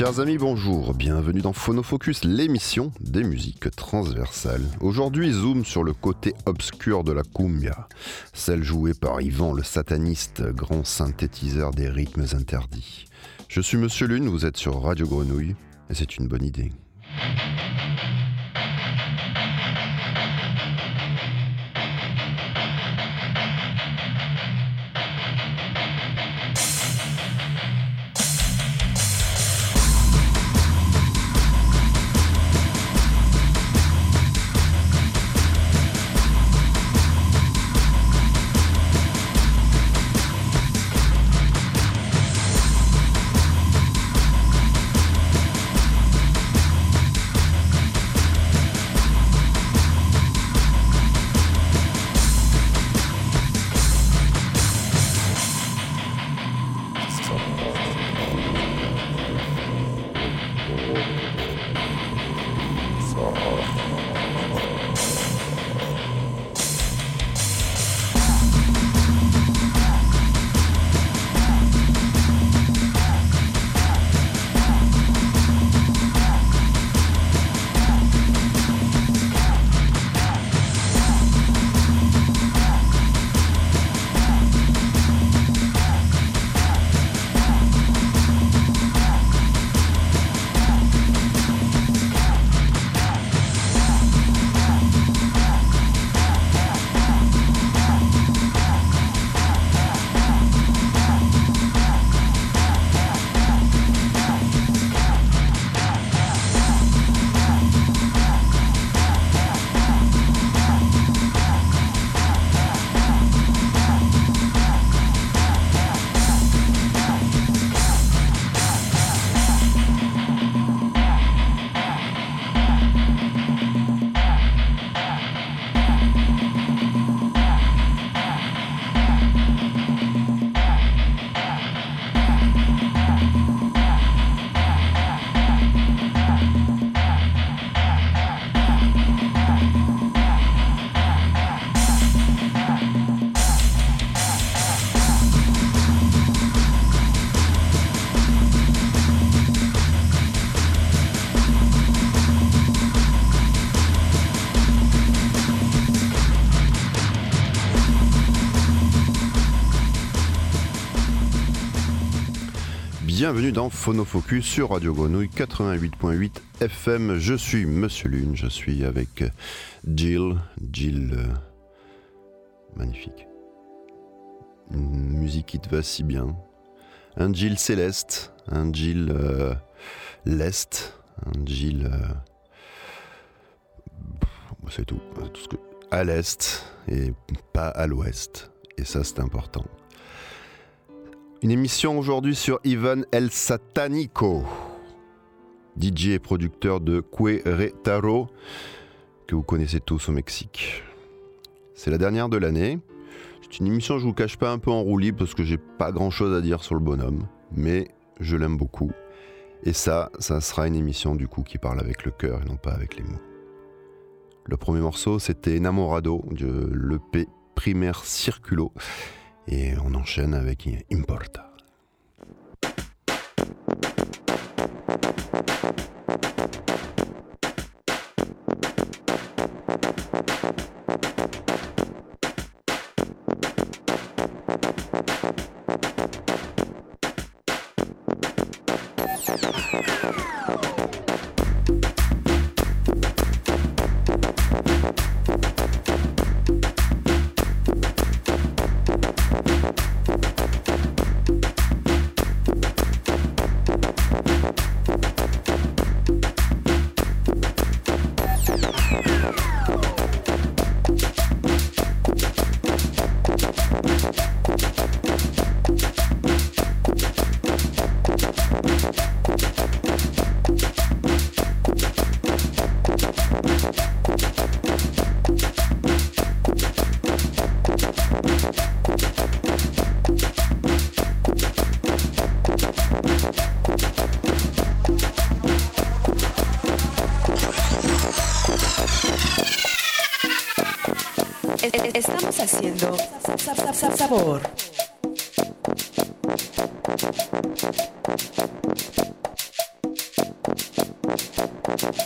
Chers amis, bonjour, bienvenue dans Phonofocus, l'émission des musiques transversales. Aujourd'hui, zoom sur le côté obscur de la cumbia, celle jouée par Yvan le sataniste, grand synthétiseur des rythmes interdits. Je suis Monsieur Lune, vous êtes sur Radio Grenouille, et c'est une bonne idée. Bienvenue dans Phonofocus sur Radio Grenouille 88.8 FM. Je suis Monsieur Lune, je suis avec Jill, magnifique. Une musique qui te va si bien. Un Jill céleste, un Jill leste, un Jill... c'est tout ce que... à l'est et pas à l'ouest. Et ça, c'est important. Une émission aujourd'hui sur Ivan El Satanico, DJ et producteur de Querétaro, que vous connaissez tous au Mexique. C'est la dernière de l'année. C'est une émission, je vous cache pas, un peu en roue libre parce que j'ai pas grand chose à dire sur le bonhomme, mais je l'aime beaucoup. Et ça sera une émission du coup qui parle avec le cœur et non pas avec les mots. Le premier morceau, c'était Enamorado de l'EP Primer Circulo. Et on enchaîne avec Importa. Estamos haciendo sabor.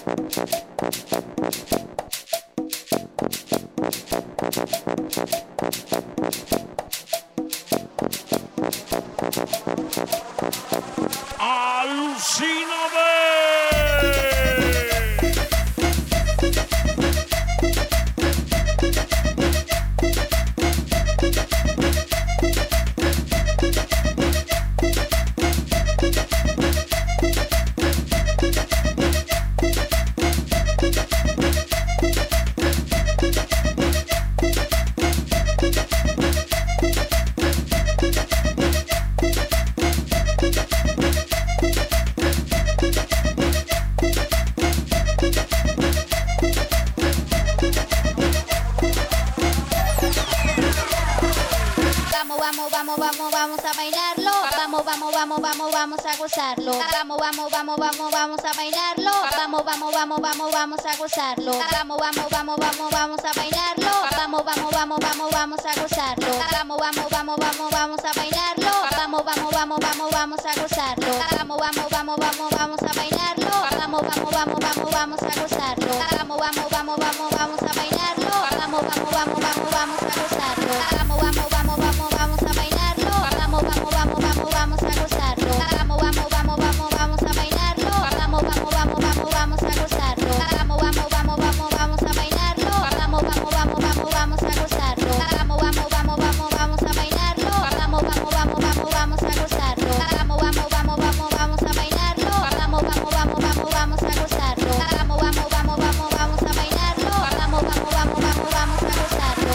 Vamos a bailarlo. Vamos a gozarlo. Vamos a bailarlo. Vamos a gozarlo. Vamos a bailarlo. Vamos a gozarlo. Vamos a bailarlo. Vamos a gozarlo. Vamos a bailarlo. Vamos a gozarlo. Vamos a bailarlo. Vamos a gozarlo. Vamos a bailarlo. Vamos a gozarlo. Vamos a bailarlo. Vamos a gozarlo. Vamos a bailarlo. Vamos a gozarlo. Vamos a bailarlo. Vamos a gozarlo. Vamos a bailarlo. Vamos a gozarlo. Vamos a bailarlo. Vamos a gozarlo.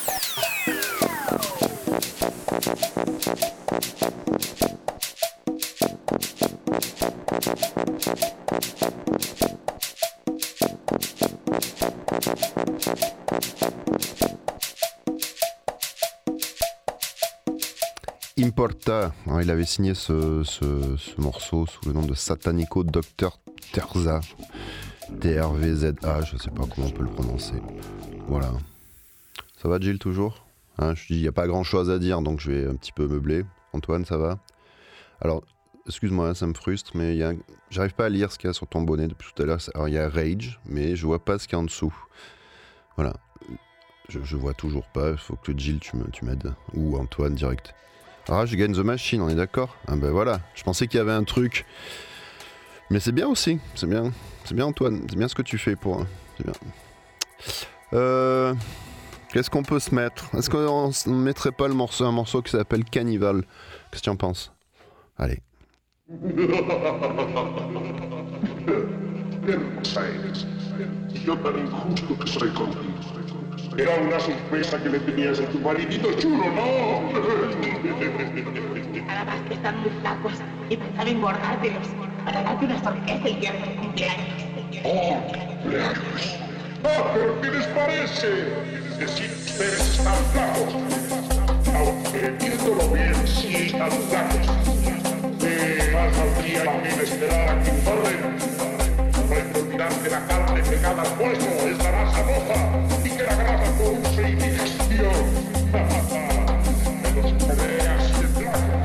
Importa, alors, il avait signé ce morceau sous le nom de Satanico Dr. Terza, TRVZA, je sais pas comment on peut le prononcer. Voilà. Ça va Gilles toujours hein, je dis, il n'y a pas grand chose à dire, donc je vais un petit peu meubler. Antoine, ça va? Alors, excuse-moi, ça me frustre, mais j'arrive pas à lire ce qu'il y a sur ton bonnet depuis tout à l'heure. Alors, il y a Rage, mais je vois pas ce qu'il y a en dessous. Voilà. Je vois toujours pas, il faut que Gilles, tu m'aides. Ou Antoine, direct. Rage Against the Machine, on est d'accord? Ah ben voilà, je pensais qu'il y avait un truc. Mais c'est bien aussi, c'est bien Antoine, c'est bien ce que tu fais pour... C'est bien. Qu'est-ce qu'on peut se mettre? Est-ce qu'on ne mettrait pas un morceau qui s'appelle Cannibal? Qu'est-ce que tu en penses? Allez. Yo tan injusto que soy contigo. Era una sorpresa que le tenías a tu maridito chulo, ¿no? Además que están muy flacos y pensaba engordártelos para darte una sorpresa el día de tu cumpleaños. ¡Oh, cumpleaños! ¡Ah, pero qué les parece! Decir que ustedes están flacos. Aunque viéndolo bien, sí están flacos. Más valdría la pena esperar a que engorden. No hay que olvidar que la carne pegada al hueso es la masa roja y que la grasa produce indigestión. De los colegas de flaco.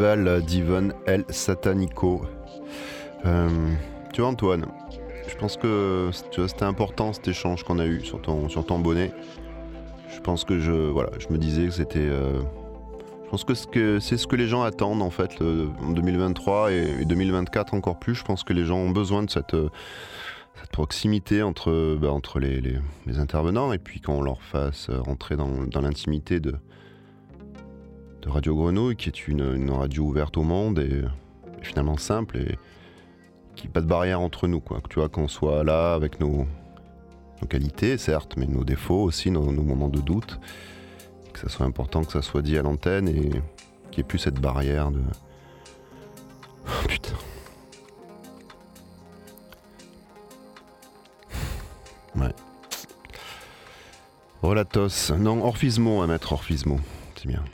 Festival d'Ivan El Satanico. Tu vois Antoine, je pense que c'était important cet échange qu'on a eu sur ton bonnet. Je pense que je me disais que c'était... je pense que c'est ce que les gens attendent en fait en 2023 et 2024 encore plus. Je pense que les gens ont besoin de cette proximité entre les intervenants et puis qu'on leur fasse rentrer dans l'intimité de Radio Grenouille, qui est une radio ouverte au monde et finalement simple et qui pas de barrière entre nous, quoi. Tu vois, qu'on soit là avec nos qualités certes, mais nos défauts aussi, nos moments de doute, que ça soit important que ça soit dit à l'antenne et qu'il n'y ait plus cette barrière de... Oh, putain. Ouais. Relatos. Non, Orphismo, on va mettre Orphismo. C'est bien.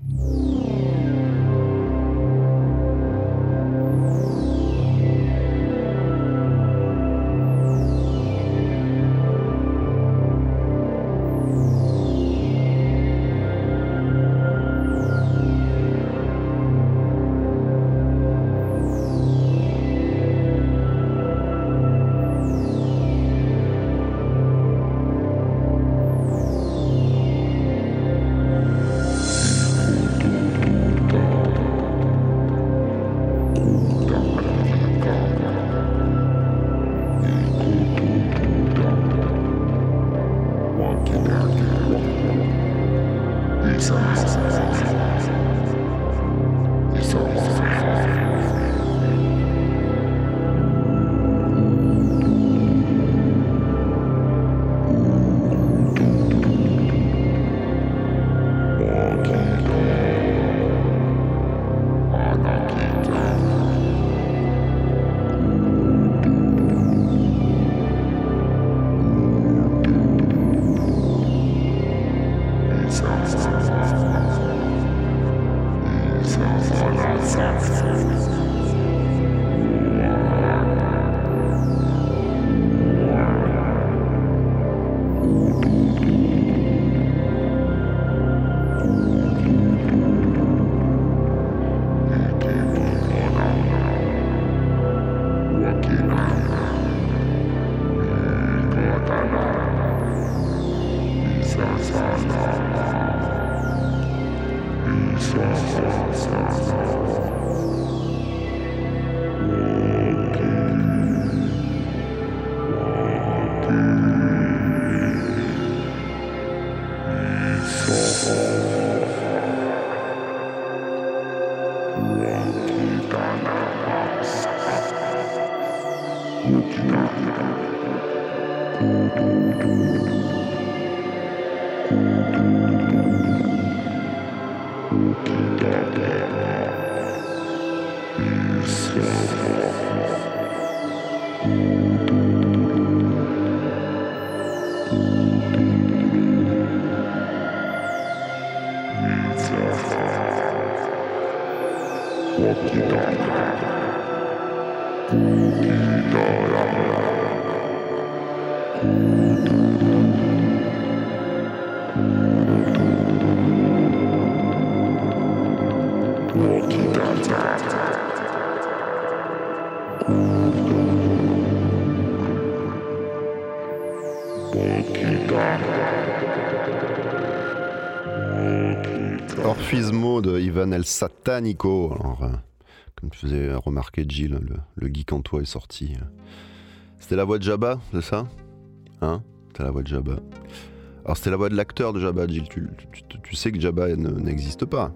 Orphismo de Ivan El Satanico. Alors, comme tu faisais remarquer Gilles, le geek en toi est sorti. C'était la voix de Jabba, c'est ça? Hein? C'était la voix de Jabba. Alors c'était la voix de l'acteur de Jabba, Gilles. Tu sais que Jabba n'existe pas.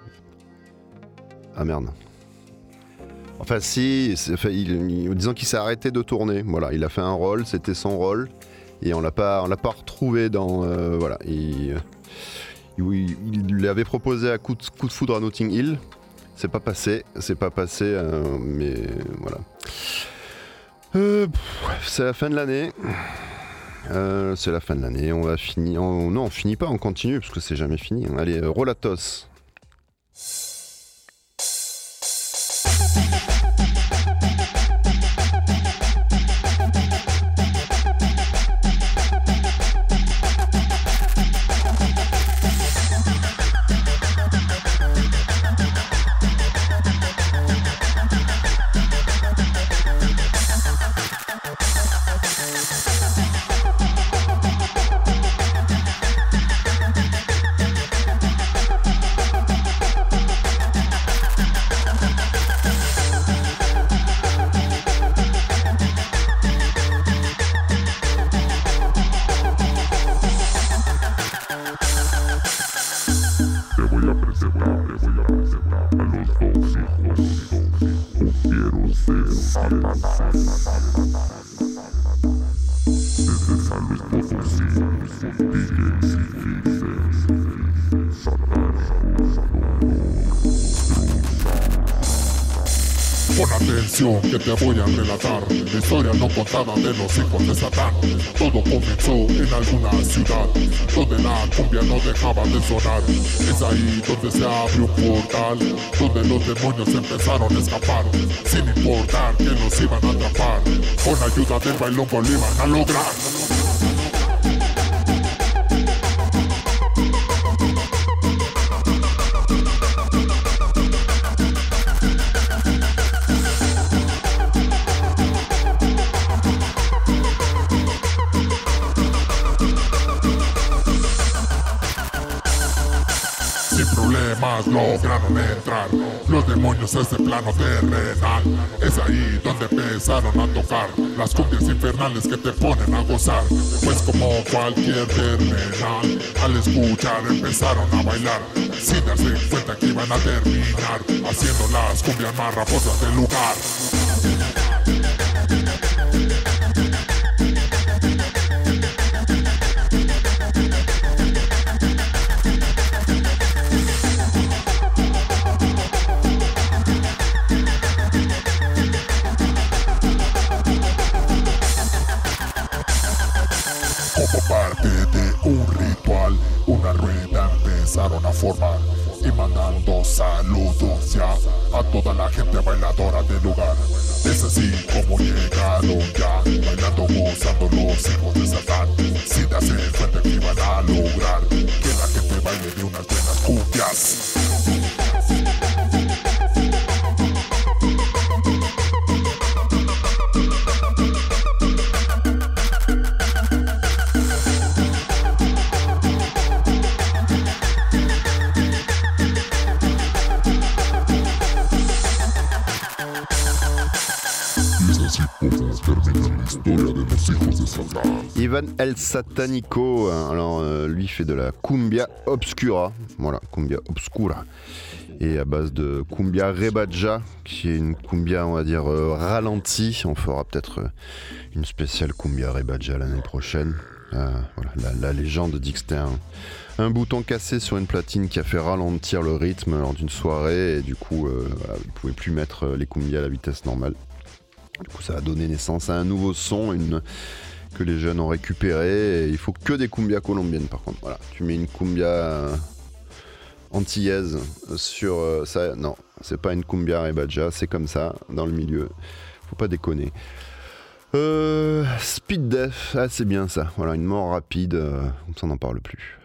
Ah merde. Enfin si, disons qu'il s'est arrêté de tourner. Voilà, il a fait un rôle, c'était son rôle. Et on l'a pas retrouvé dans... voilà, il lui avait proposé à coup de foudre à Notting Hill. C'est pas passé, mais voilà. C'est la fin de l'année. On va finir. Non, on finit pas, on continue parce que c'est jamais fini. Allez, Relatos. Pon atención que te voy a relatar la historia no contada de los hijos de Satán. Todo comenzó en alguna ciudad donde la cumbia no dejaba de sonar. Es ahí donde se abrió un portal, donde los demonios empezaron a escapar, sin importar que los iban a atrapar. Con ayuda del bailongo lo iban a lograr. Lograron entrar los demonios a ese plano terrenal. Es ahí donde empezaron a tocar las cumbias infernales que te ponen a gozar. Pues como cualquier terrenal, al escuchar empezaron a bailar, sin darse cuenta que iban a terminar haciendo las cumbias más raposas del lugar. A formar y mandando saludos ya a toda la gente bailadora del lugar. Es así como llegaron ya, bailando, gozando los hijos de Satán, sin darse cuenta que iban a lograr que la gente baile de unas buenas cumbias. Ivan El Satanico, alors lui fait de la cumbia obscura, voilà, cumbia obscura, et à base de cumbia rebaja, qui est une cumbia, on va dire, ralentie. On fera peut-être une spéciale cumbia rebaja l'année prochaine. Voilà, la légende dit que c'était un bouton cassé sur une platine qui a fait ralentir le rythme lors d'une soirée, et du coup, voilà, il ne pouvait plus mettre les cumbias à la vitesse normale. Du coup, ça a donné naissance à un nouveau son, que les jeunes ont récupéré. Et il faut que des cumbias colombiennes, par contre. Voilà, tu mets une cumbia antillaise sur ça. Non, c'est pas une cumbia rebaja, c'est comme ça dans le milieu. Faut pas déconner. Speed Death, c'est bien ça. Voilà, une mort rapide, comme ça on n'en parle plus.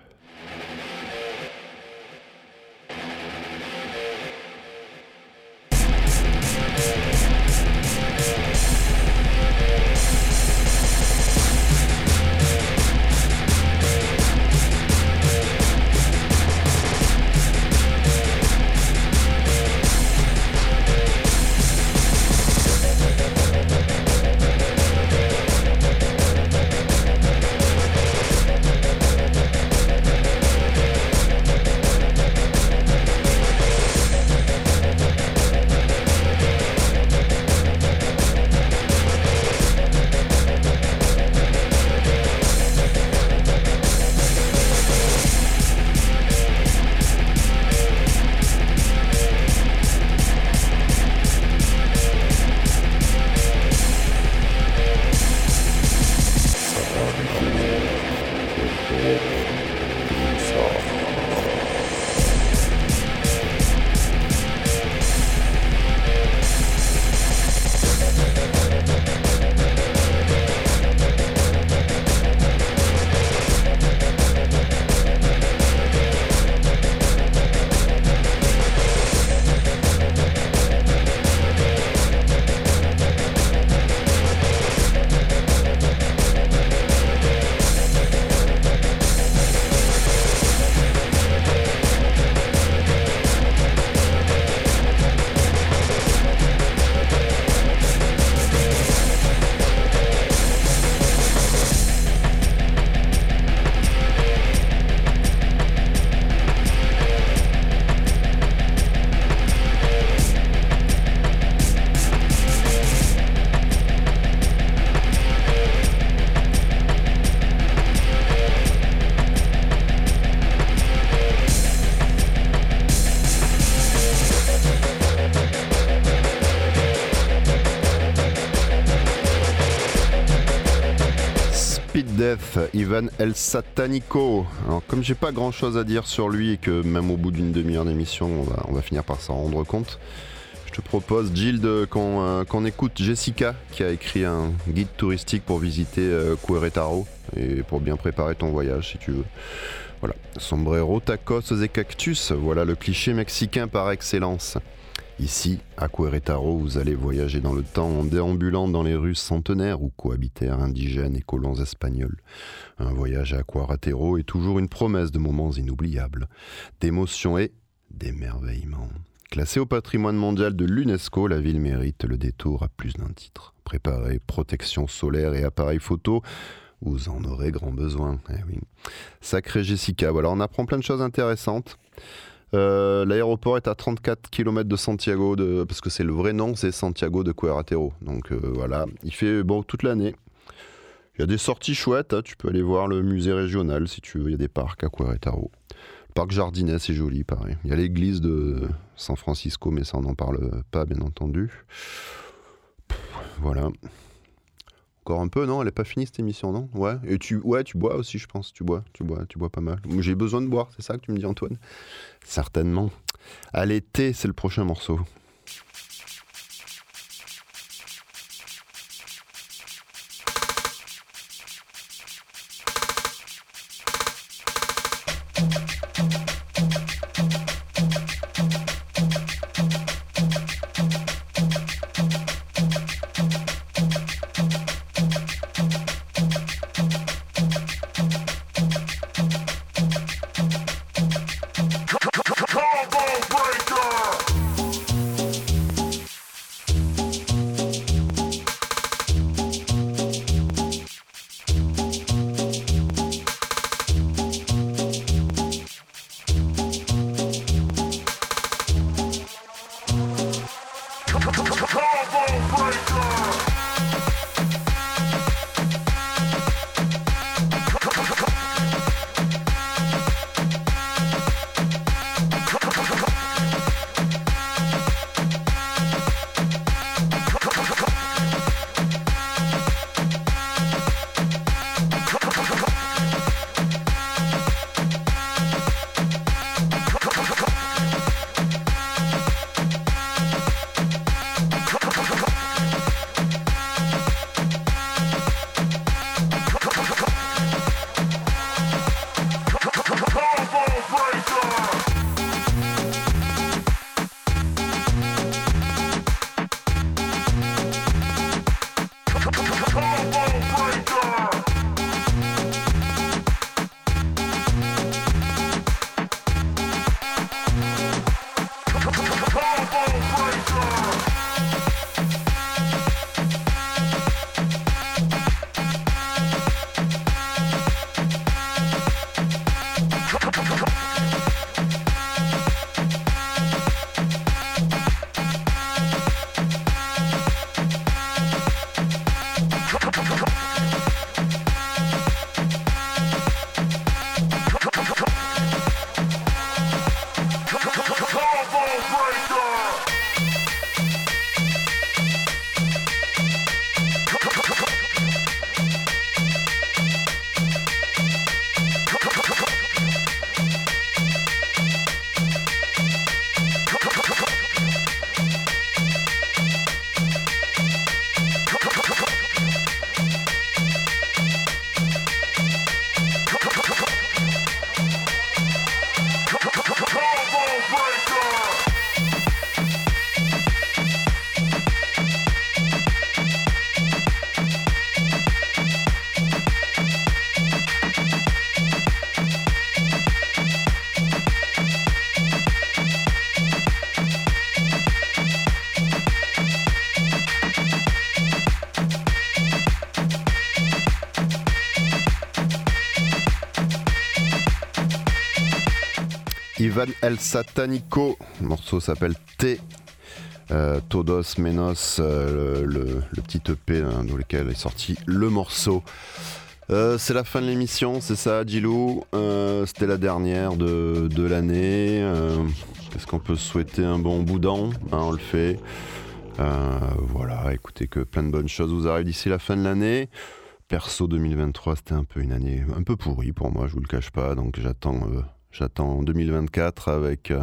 Stupid Death, Ivan El Satanico. Alors comme j'ai pas grand chose à dire sur lui et que même au bout d'une demi-heure d'émission on va finir par s'en rendre compte, je te propose Gilles qu'on écoute Jessica qui a écrit un guide touristique pour visiter Querétaro et pour bien préparer ton voyage si tu veux. Voilà, sombrero, tacos et cactus, voilà le cliché mexicain par excellence. Ici, à Querétaro, vous allez voyager dans le temps en déambulant dans les rues centenaires où cohabitèrent indigènes et colons espagnols. Un voyage à Querétaro est toujours une promesse de moments inoubliables, d'émotions et d'émerveillement. Classée au patrimoine mondial de l'UNESCO, la ville mérite le détour à plus d'un titre. Préparez protection solaire et appareil photo, vous en aurez grand besoin. Eh oui. Sacré Jessica, voilà, on apprend plein de choses intéressantes. L'aéroport est à 34 km de Santiago, parce que c'est le vrai nom, c'est Santiago de Querétaro. Donc voilà, il fait bon toute l'année. Il y a des sorties chouettes, hein, tu peux aller voir le musée régional si tu veux, il y a des parcs à Querétaro. Le parc Jardinet, c'est joli, pareil. Il y a l'église de San Francisco, mais ça on n'en parle pas, bien entendu. Voilà. Encore un peu, non? Elle n'est pas finie cette émission, non? Ouais. Et tu bois aussi, je pense. Tu bois pas mal. J'ai besoin de boire, c'est ça que tu me dis, Antoine? Certainement. Allez, thé, c'est le prochain morceau. Ivan El Satanico, le morceau s'appelle T. Todos Menos, le petit EP hein, dans lequel est sorti le morceau. C'est la fin de l'émission, c'est ça, Gilou. C'était la dernière de l'année. Est-ce qu'on peut souhaiter un bon boudin hein, on le fait. Voilà, écoutez que plein de bonnes choses vous arrivent d'ici la fin de l'année. Perso, 2023, c'était un peu une année un peu pourrie pour moi, je vous le cache pas. Donc j'attends 2024 avec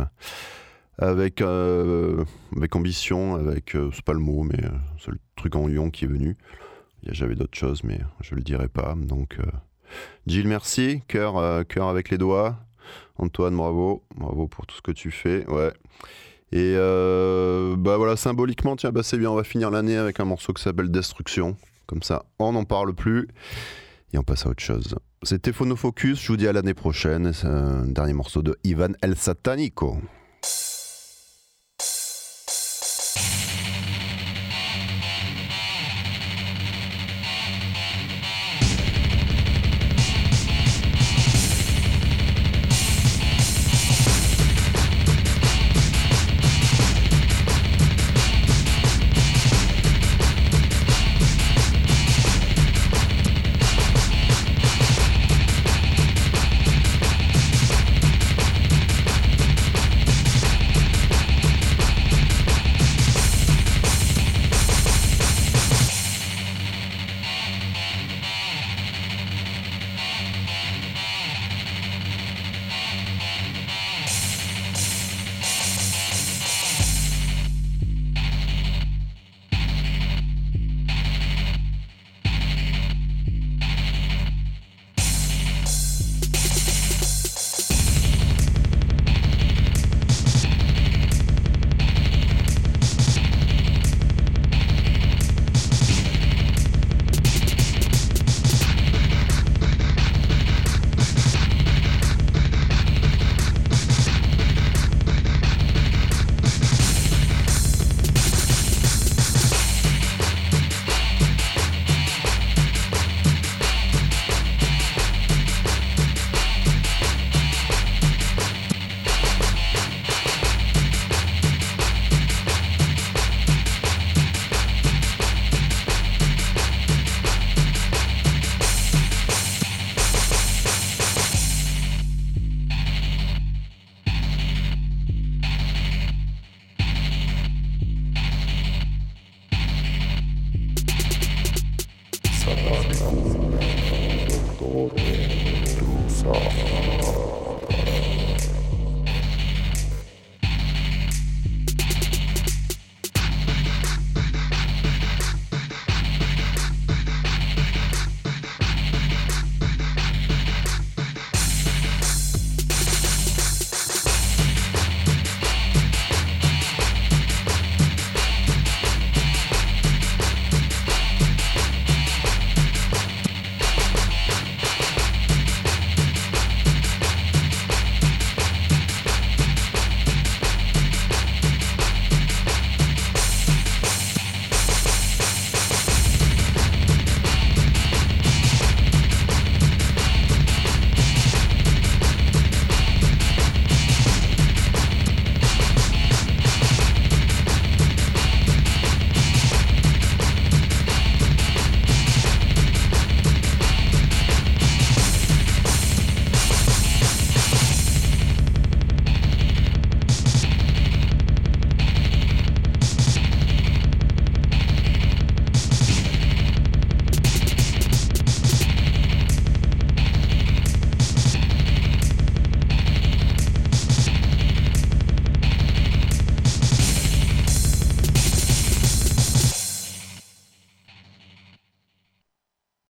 ambition, c'est pas le mot, mais c'est le truc en lion qui est venu. J'avais d'autres choses, mais je le dirai pas. Donc Gilles, merci. Cœur avec les doigts. Antoine, bravo pour tout ce que tu fais. Ouais. Et voilà, symboliquement, tiens, c'est bien, on va finir l'année avec un morceau qui s'appelle Destruction. Comme ça, on n'en parle plus et on passe à autre chose. C'était Phonofocus, je vous dis à l'année prochaine. C'est un dernier morceau de Ivan El Satanico. Satanico, dottore, tu sai.